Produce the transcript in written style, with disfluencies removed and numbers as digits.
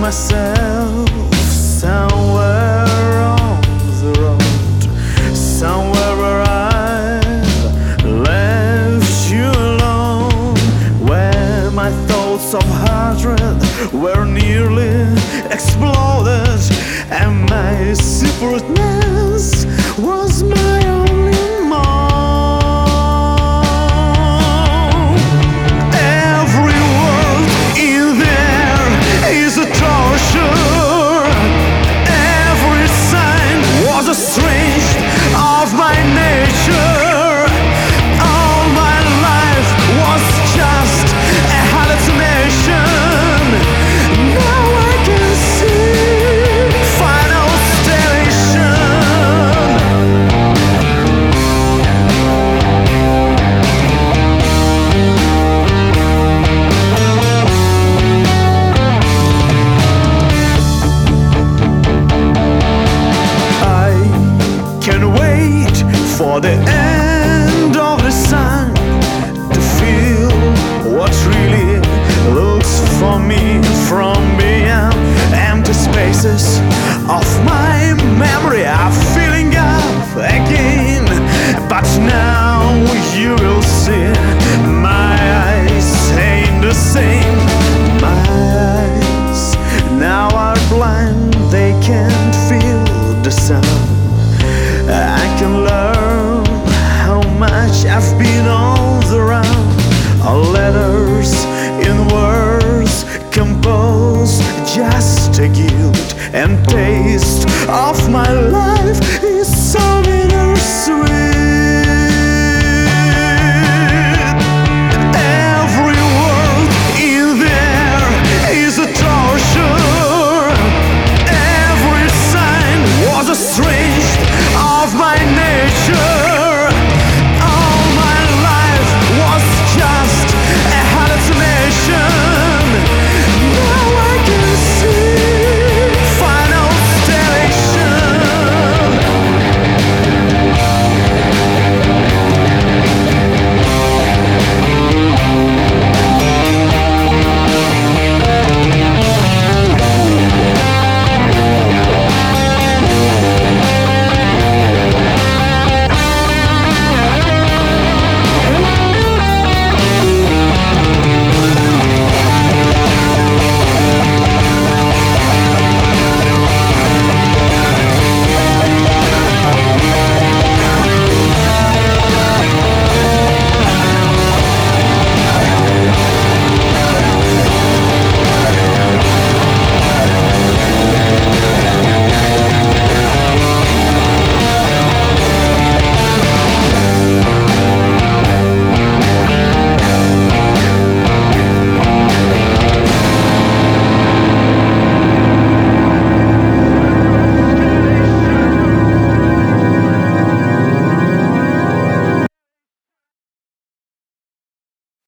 myself somewhere on the road, somewhere where I left you alone, where my thoughts of hatred were nearly exploded, and my separateness was my only moan. Every word in there is a torture. Every sign was a strange of my nature. All my life was just a hallucination. Now I can see final station. Can wait for the end of the sun to feel what really looks for me from beyond empty spaces of my memory are filling up again. But now you will see my eyes ain't the same. My eyes now are blind, they can't feel the sun. I can learn how much I've been on the run. Letters in words composed just a guilt and taste of my